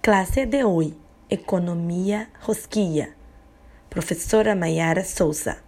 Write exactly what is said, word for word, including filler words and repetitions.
Clase de hoy, Economía Rosquilla. Profesora Mayara Souza.